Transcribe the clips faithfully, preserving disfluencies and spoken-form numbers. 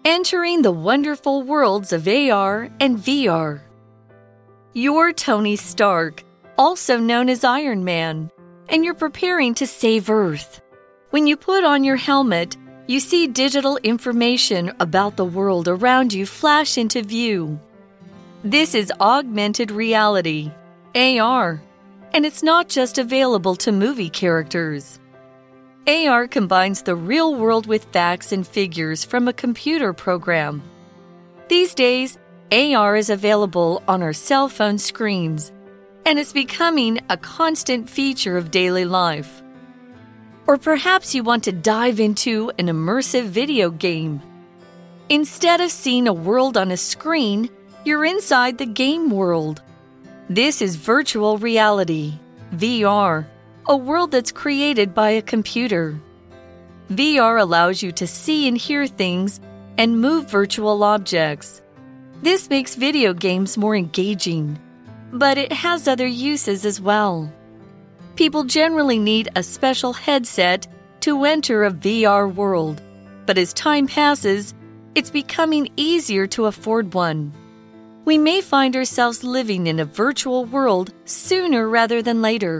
entering the wonderful worlds of A R and V R. You're Tony Stark, also known as Iron Man, and you're preparing to save Earth. When you put on your helmet, you see digital information about the world around you flash into view. This is augmented reality, A R, and it's not just available to movie characters. A R combines the real world with facts and figures from a computer program. These days, A R is available on our cell phone screens, and it's becoming a constant feature of daily life. Or perhaps you want to dive into an immersive video game. Instead of seeing a world on a screen, you're inside the game world. This is virtual reality, V R, a world that's created by a computer. V R allows you to see and hear things and move virtual objects. This makes video games more engaging, but it has other uses as well. People generally need a special headset to enter a V R world, but as time passes, it's becoming easier to afford one. We may find ourselves living in a virtual world sooner rather than later.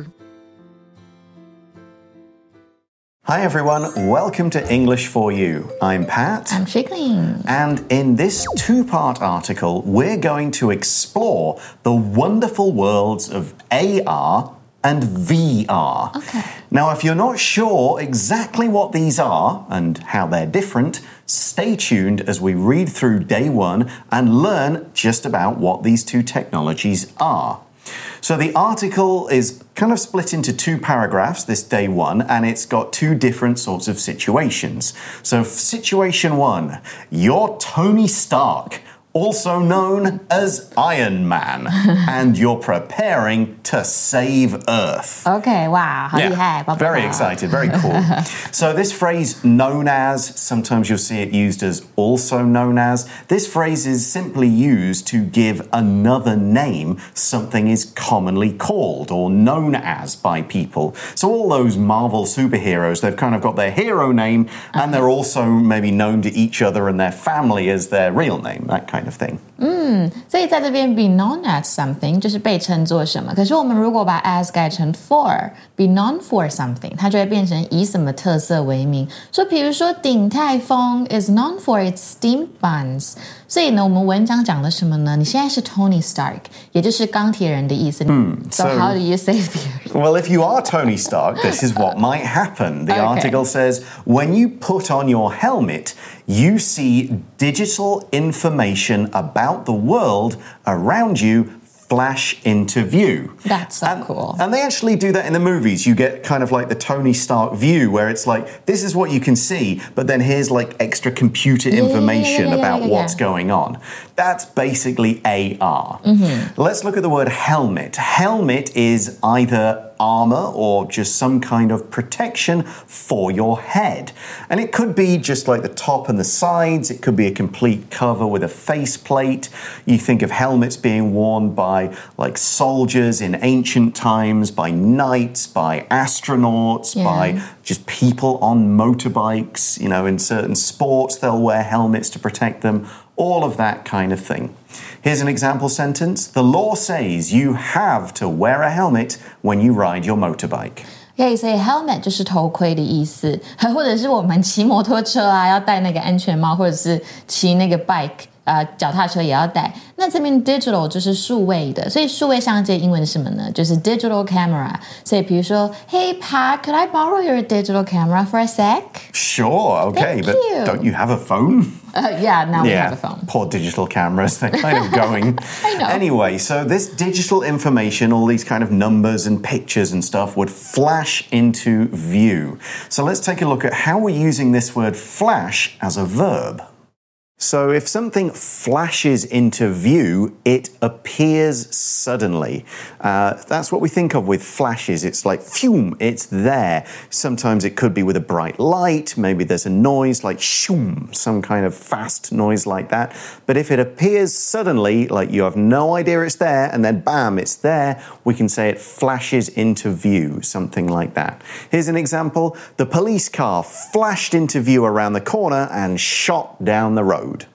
Hi everyone, welcome to English for You. I'm Pat. I'm Chickling. And in this two-part article, we're going to explore the wonderful worlds of A R and V R. Okay. Now, if you're not sure exactly what these are and how they're different, stay tuned as we read through day one and learn just about what these two technologies are. So the article is kind of split into two paragraphs, this day one, and it's got two different sorts of situations. So situation one, you're Tony Stark, also known as Iron Man, and you're preparing to save Earth. Okay, wow, 好厲害, yeah, very excited, very cool. So this phrase, known as, sometimes you'll see it used as also known as. This phrase is simply used to give another name something is commonly called or known as by people. So all those Marvel superheroes, they've kind of got their hero name, and they're also maybe known to each other and their family as their real name, that kind of thing. 嗯，所以在这边 be known as something 就是被称作什么，可是我们如果把 as 改成 for be known for something 它就会变成以什么特色为名，所以比如说鼎泰丰 is known for its steamed buns， 所以呢我们文章講了什麼呢？你現在是 Tony Stark 也就是鋼鐵人的意思。嗯 so, so how do you save the earth? Well, if you are Tony Stark, this is what might happen. The okay. article says, when you put on your helmet, you see digital information about the world around you flash into view. That's so and, cool. And they actually do that in the movies. You get kind of like the Tony Stark view where it's like, this is what you can see, but then here's like extra computer information yeah, yeah, yeah, yeah, about yeah, yeah, yeah. what's going on. That's basically A R. Mm-hmm. Let's look at the word helmet. Helmet is either armor or just some kind of protection for your head. And it could be just like the top and the sides. It could be a complete cover with a faceplate. You think of helmets being worn by like soldiers in ancient times, by knights, by astronauts, yeah. by just people on motorbikes. You know, in certain sports, they'll wear helmets to protect them. All of that kind of thing. Here's an example sentence. The law says you have to wear a helmet when you ride your motorbike. Okay, so helmet 就是头盔的意思，或者是我們騎摩托車啊，要戴那個安全帽，或者是騎那個 bike。呃，腳踏車也要帶。那這邊 digital 就是數位的，所以數位相機英文是什麼呢？就是 digital camera。所以比如說 Hey Pat, could I borrow your digital camera for a sec? Sure, okay, Thank but you. Don't you have a phone? Uh, yeah, now we yeah, have a phone. Poor digital cameras, they're kind of going. I know. Anyway, so this digital information, all these kind of numbers and pictures and stuff would flash into view. So let's take a look at how we're using this word flash as a verb. So if something flashes into view, it appears suddenly. Uh, that's what we think of with flashes. It's like, phew, it's there. Sometimes it could be with a bright light. Maybe there's a noise like shoom, some kind of fast noise like that. But if it appears suddenly, like you have no idea it's there, and then bam, it's there, we can say it flashes into view, something like that. Here's an example. The police car flashed into view around the corner and shot down the road.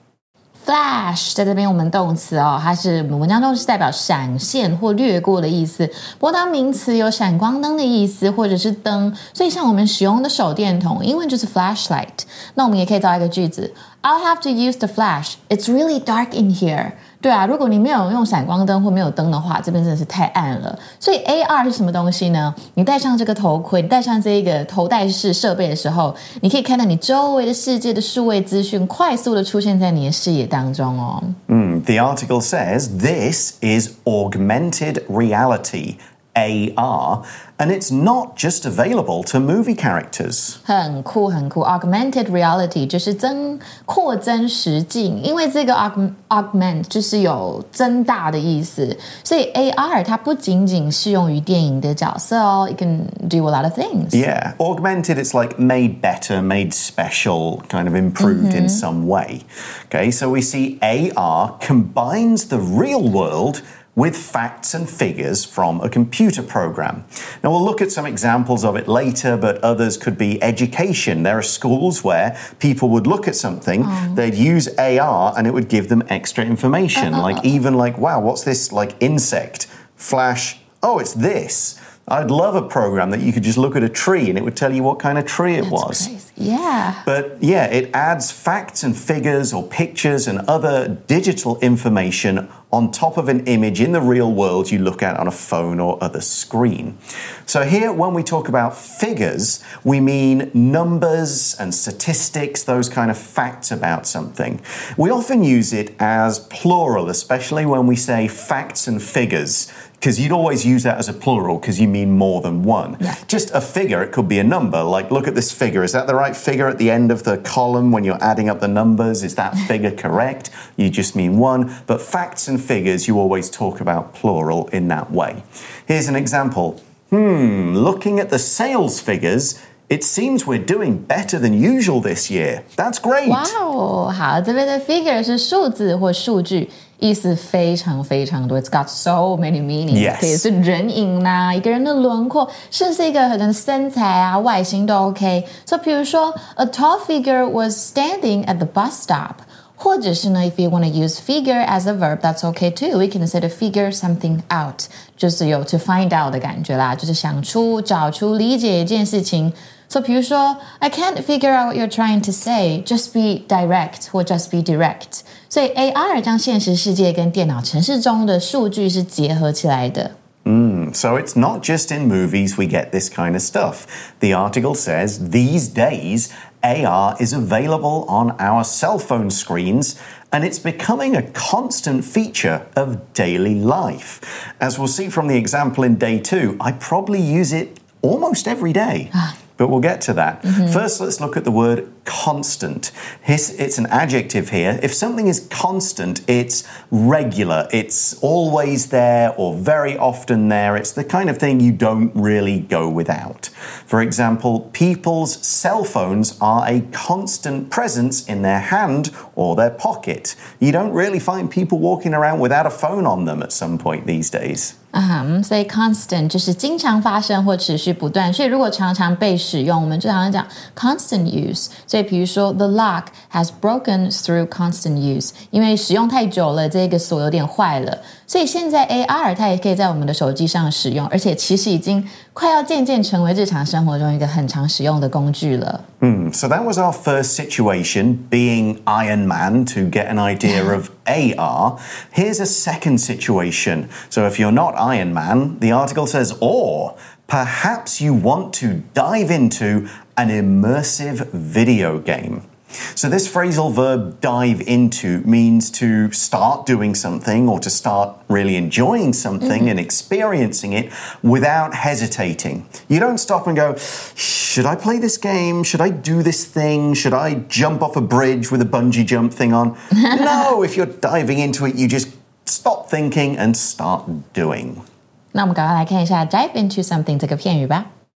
Flash 在這邊我們動詞哦，它是我們文章中是代表閃現或掠過的意思。不過當名詞有閃光燈的意思，或者是燈，所以像我們使用的手電筒，英文就是 flashlight。那我們也可以造一個句子 ：I'll have to use the flash. It's really dark in here. 對啊，如果你沒有用閃光燈或沒有燈的話，這邊真的是太暗了。所以 A R 是什麼東西呢？你戴上這個頭盔，你戴上這一個頭戴式設備的時候，你可以看到你周圍的世界的數位資訊快速的出現在你的視野當中哦。 Mm, the article says this is augmented reality, A R, and it's not just available to movie characters. 很酷很酷 Augmented reality 就是增擴增实境，因為這個 aug, augment 就是有增大的意思，所以 A R 它不僅僅適用於電影的角色哦 It can do a lot of things. Yeah, augmented, it's like made better, made special, kind of improved mm-hmm. in some way. Okay, so we see A R combines the real world with facts and figures from a computer program. Now, we'll look at some examples of it later, but others could be education. There are schools where people would look at something, oh. they'd use A R, and it would give them extra information. Uh, uh, like, even like, wow, what's this, like, insect? Flash, oh, it's this. I'd love a program that you could just look at a tree and it would tell you what kind of tree it That's was. Crazy. Yeah. But yeah, it adds facts and figures or pictures and other digital information on top of an image in the real world you look at on a phone or other screen. So here, when we talk about figures, we mean numbers and statistics, those kind of facts about something. We often use it as plural, especially when we say facts and figures, because you'd always use that as a plural because you mean more than one. Yeah. Just a figure, it could be a number. Like, look at this figure. Is that the right figure at the end of the column when you're adding up the numbers? Is that figure correct? You just mean one. But facts and figures, you always talk about plural in that way. Here's an example. Hmm, looking at the sales figures, it seems we're doing better than usual this year. That's great. Wow, 好，这边的 figure 是数字或数据，意思非常非常多。It's got so many meanings. Yes. 可以是人影啦，一个人的轮廓，甚至是一个人的身材啊、外形都 OK。So 比如说 ，a tall figure was standing at the bus stop. 或者是呢 if you want to use figure as a verb, that's okay too. We can say to figure something out. 就是有 to find out 的感觉啦，就是想出、找出、理解一件事情。So 比如說 I can't figure out what you're trying to say. Just be direct 或 just be direct. 所以 A R 將現實世界跟電腦程式中的數據是結合起來的。 Mm, so it's not just in movies we get this kind of stuff. The article says these days A R is available on our cell phone screens and it's becoming a constant feature of daily life. As we'll see from the example in day two, I probably use it almost every day. But we'll get to that. Mm-hmm. First, let's look at the word constant. It's an adjective here. If something is constant, it's regular. It's always there or very often there. It's the kind of thing you don't really go without. For example, people's cell phones are a constant presence in their hand or their pocket. You don't really find people walking around without a phone on them at some point these days. 啊、uh-huh, 所以 constant 就是经常发生或持续不断，所以如果常常被使用，我们就常常講 constant use。所以比如說 the lock has broken through constant use， 因為使用太久了，這個鎖有點壞了。所以現在 A R 它也可以在我們的手機上使用，而且其實已經快要漸漸成為日常生活中一個很常使用的工具了。 Mm, so that was our first situation, being Iron Man, to get an idea of A R. Here's a second situation. So if you're not Iron Man, the article says, or perhaps you want to dive into an immersive video game. So this phrasal verb dive into means to start doing something or to start really enjoying something mm-hmm. and experiencing it without hesitating. You don't stop and go, should I play this game? Should I do this thing? Should I jump off a bridge with a bungee jump thing on? No, if you're diving into it, you just stop thinking and start doing. 那我們趕快來看一下 dive into something 這個片語吧。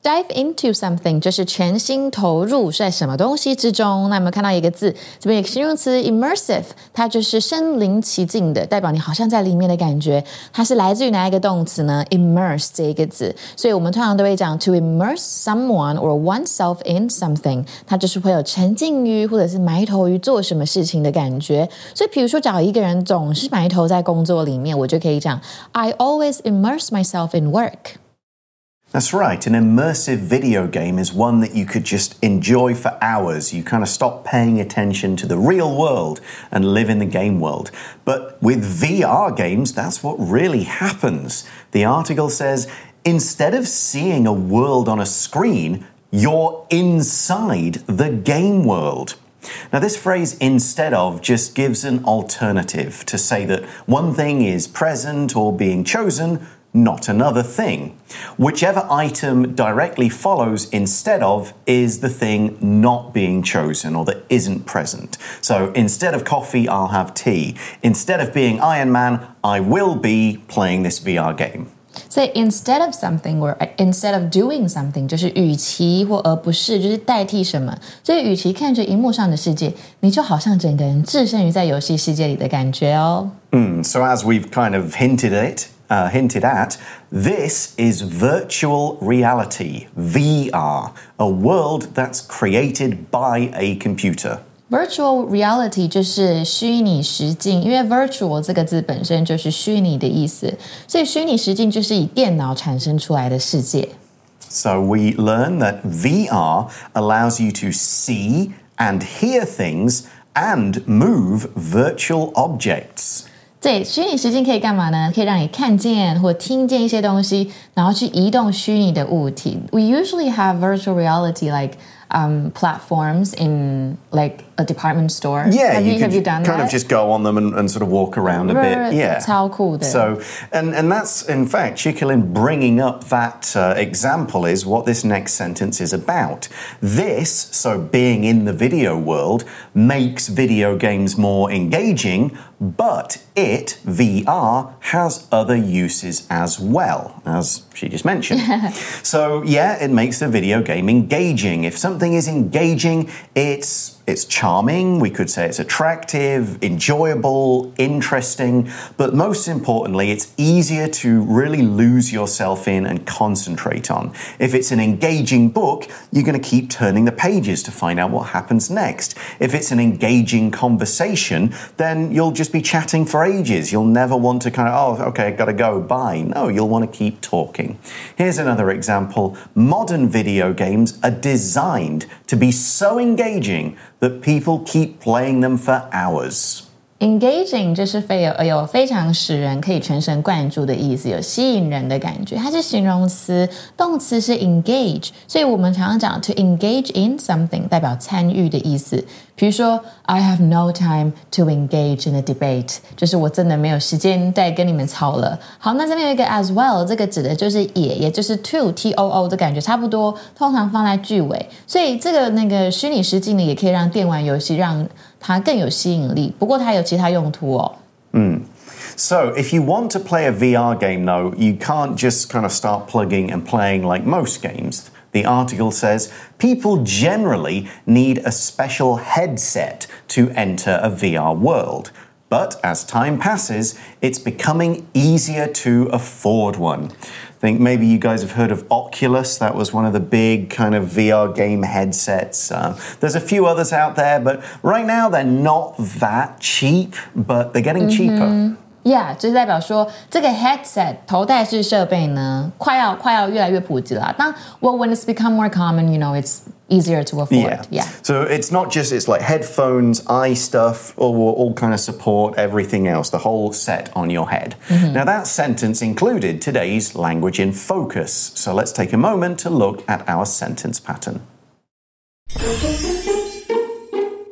Dive into something 就是全心投入在什麼東西之中。那有沒有看到一個字？這邊有個形容詞 immersive， 它就是身臨其境的，代表你好像在裡面的感覺。它是來自於哪一個動詞呢？ immerse 這一個字，所以我們通常都會講 to immerse someone or oneself in something， 它就是會有沉浸於或者是埋頭於做什麼事情的感覺。所以比如說找一個人總是埋頭在工作裡面，我就可以講 I always immerse myself in work。That's right. An immersive video game is one that you could just enjoy for hours. You kind of stop paying attention to the real world and live in the game world. But with V R games, that's what really happens. The article says, instead of seeing a world on a screen, you're inside the game world. Now, this phrase, instead of, just gives an alternative to say that one thing is present or being chosen, not another thing. Whichever item directly follows instead of is the thing not being chosen or that isn't present. So instead of coffee, I'll have tea. Instead of being Iron Man, I will be playing this V R game. So instead of something or instead of doing something 就是與其或而不是，就是代替什麼。所以與其看着螢幕上的世界，你就好像整個人置身於在遊戲世界裡的感覺哦。 Mm, so as we've kind of hinted at, uh, hinted at, this is virtual reality, V R, a world that's created by a computer.Virtual reality 就是虛擬實境，因為 virtual 這個字本身就是虛擬的意思，所以虛擬實境就是以電腦產生出來的世界。 So we learn that V R allows you to see and hear things and move virtual objects. 对，虛擬實境可以幹嘛呢？可以讓你看見或聽見一些東西，然後去移動虛擬的物體。We usually have virtual reality like um, platforms in like a department store. Yeah, have you, you, have you done kind that? of just go on them and, and sort of walk around a bit. Yeah, 超酷的。 So, and and that's in fact, Chicolin bringing up that uh, example is what this next sentence is about. This, so being in the video world, makes video games more engaging, but it, V R, has other uses as well, as she just mentioned. So, yeah, it makes the video game engaging. If something is engaging, it's It's charming, we could say it's attractive, enjoyable, interesting, but most importantly, it's easier to really lose yourself in and concentrate on. If it's an engaging book, you're going to keep turning the pages to find out what happens next. If it's an engaging conversation, then you'll just be chatting for ages. You'll never want to kind of, oh, okay, gotta go, bye. No, you'll want to keep talking. Here's another example. Modern video games are designed to be so engaging that people keep playing them for hours. Engaging 就是非有有非常使人可以全神貫注的意思，有吸引人的感覺。它是形容詞，動詞是 engage， 所以我們常常講 to engage in something 代表參與的意思。比如說 I have no time to engage in a debate， 就是我真的沒有時間再跟你們吵了。好，那這邊有一個 as well， 這個指的就是也，也就是 to T O O 的感覺差不多，通常放在句尾。所以這個那個虛擬實境呢，也可以讓電玩遊戲讓它更有吸引力，不過它有其他用途哦。 嗯。So, if you want to play a V R game, though, you can't just kind of start plugging and playing like most games. The article says people generally need a special headset to enter a V R world. But as time passes, it's becoming easier to afford one. I think maybe you guys have heard of Oculus. That was one of the big kind of V R game headsets. Uh, there's a few others out there, but right now they're not that cheap, but they're getting cheaper. Yeah， 就是代表說這個 headset 頭戴式設備呢，快要快要越來越普及了。當 well when it's become more common, you know, it's easier to afford. Yeah. yeah. So it's not just it's like headphones, eye stuff, or will all kind of support everything else, the whole set on your head. Mm-hmm. Now that sentence included today's language in focus. So let's take a moment to look at our sentence pattern.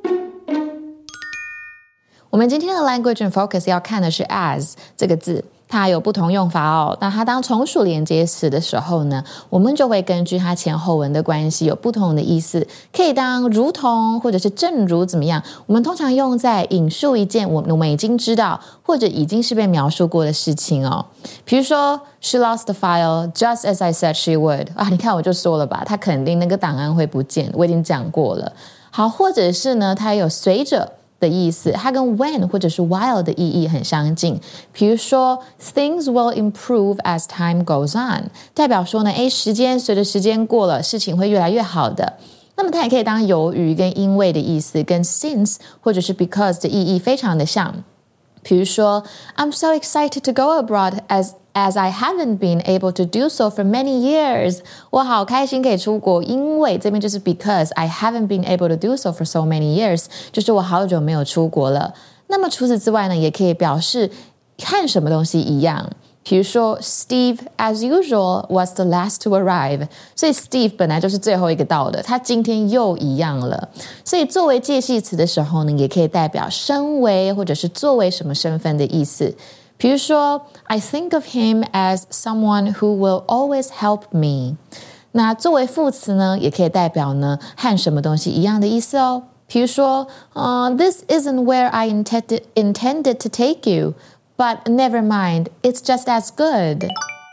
我們今天的 language and focus 要看的是 as 這個字， 它有不同用法哦。那它當從屬連接詞的時候呢，我們就會根據它前後文的關係有不同的意思，可以當如同或者是正如怎麼樣。我們通常用在引述一件我我們已經知道或者已經是被描述過的事情哦。比如說 She lost the file just as I said she would 啊，你看我就說了吧，她肯定那個檔案會不見，我已經講過了。好，或者是呢，它有隨着的意思，它跟 when 或者是 while 的意義很相近。比如說 Things will improve as time goes on 代表說呢，誒，時間隨着時間過了，事情會越來越好的。那麼它也可以當由於跟因為的意思，跟 since 或者是 because 的意義非常的像。比如說 I'm so excited to go abroad as As I haven't been able to do so for many years 我好開心可以出國，因為這邊就是 because I haven't been able to do so for so many years 就是我好久沒有出國了。那麼除此之外呢，也可以表示和什麼東西一樣。比如說 Steve as usual was the last to arrive 所以 Steve 本來就是最後一個到的，他今天又一樣了。所以作為介系詞的時候呢，也可以代表身為或者是作為什麼身份的意思。比如說 I think of him as someone who will always help me 那作為副詞呢，也可以代表呢和什麼東西一樣的意思哦。比如說、uh, This isn't where I intended, intended to take you But never mind, it's just as good.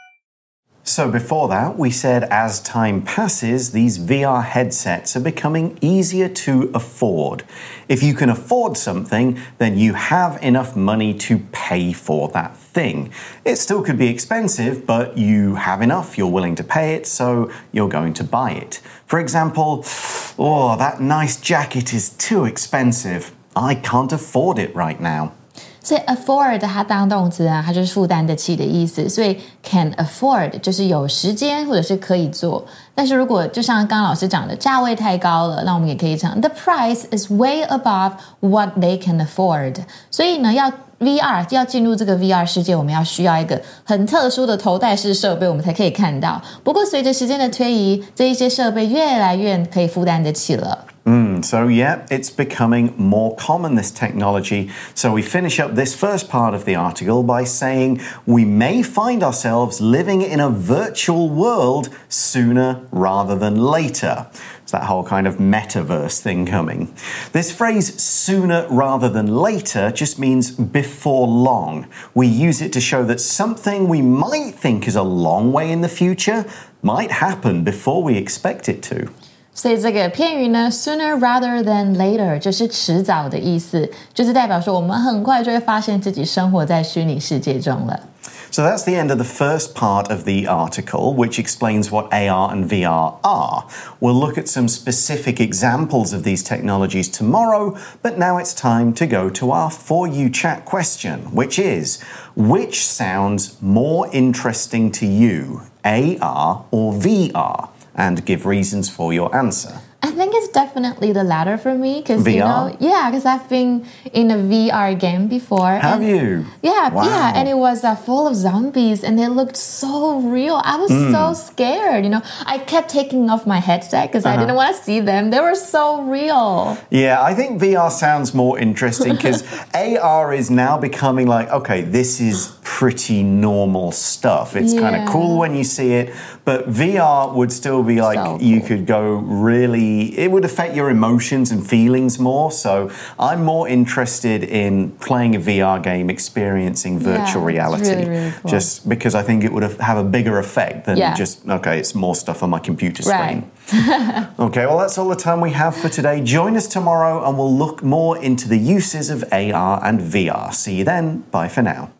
So before that, we said as time passes, these V R headsets are becoming easier to afford. If you can afford something, then you have enough money to pay for that thing. It still could be expensive, but you have enough, you're willing to pay it, so you're going to buy it. For example, oh, that nice jacket is too expensive. I can't afford it right now. 所以 afford 它當動詞啊，它就是負擔得起的意思，所以 can afford 就是有時間或者是可以做。但是如果就像剛剛老師講的，價位太高了，那我們也可以講 The price is way above what they can afford。所以呢，要 V R 要進入這個 V R 世界，我們要需要一個很特殊的頭戴式設備，我們才可以看到。不過隨着時間的推移，這一些設備越來越可以負擔得起了。 Mm, so yeah, it's becoming more common, this technology. So we finish up this first part of the article by saying we may find ourselves living in a virtual world sooner rather than later. It's that whole kind of metaverse thing coming. This phrase sooner rather than later just means before long. We use it to show that something we might think is a long way in the future might happen before we expect it to. 所以這個片語呢 sooner rather than later 就是遲早的意思，就是代表說我們很快就會發現自己生活在虛擬世界中了。 So that's the end of the first part of the article, which explains what A R and V R are. We'll look at some specific examples of these technologies tomorrow, but now it's time to go to our For You Chat question, which is, which sounds more interesting to you, A R or V R? And give reasons for your answer. I think it's definitely the latter for me because you know, yeah, because I've been in a V R game before. Have and, you? Yeah, wow. yeah, and it was uh, full of zombies, and they looked so real. I was mm. so scared. You know, I kept taking off my headset because uh-huh. I didn't want to see them. They were so real. Yeah, I think V R sounds more interesting because A R is now becoming like, okay, this is pretty normal stuff. It's yeah. kind of cool when you see it, but V R would still be like so cool. You could go really. It would affect your emotions and feelings more. So I'm more interested in playing a V R game, experiencing virtual yeah, reality. Really, really cool. Just because I think it would have a bigger effect than yeah. just, okay, it's more stuff on my computer screen. Right. Okay, well, that's all the time we have for today. Join us tomorrow and we'll look more into the uses of A R and V R. See you then. Bye for now.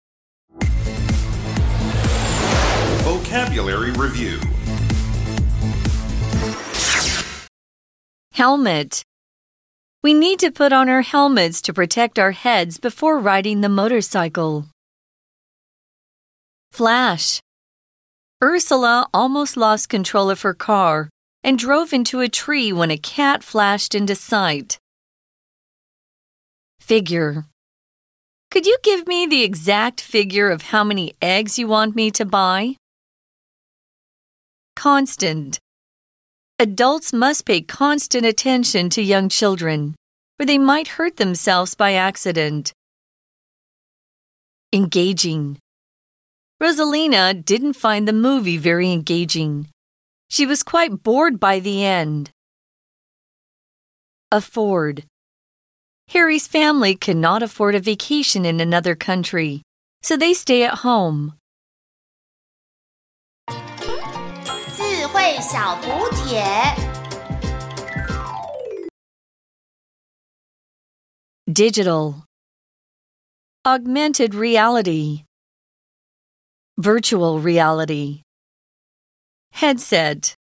Vocabulary Review. Helmet. We need to put on our helmets to protect our heads before riding the motorcycle. Flash. Ursula almost lost control of her car and drove into a tree when a cat flashed into sight. Figure. Could you give me the exact figure of how many eggs you want me to buy? Constant. Adults must pay constant attention to young children, or they might hurt themselves by accident. Engaging. Rosalina didn't find the movie very engaging. She was quite bored by the end. Afford. Harry's family could not afford a vacation in another country, so they stay at home. 智慧小补帖 Digital. Augmented reality. Virtual reality. Headset.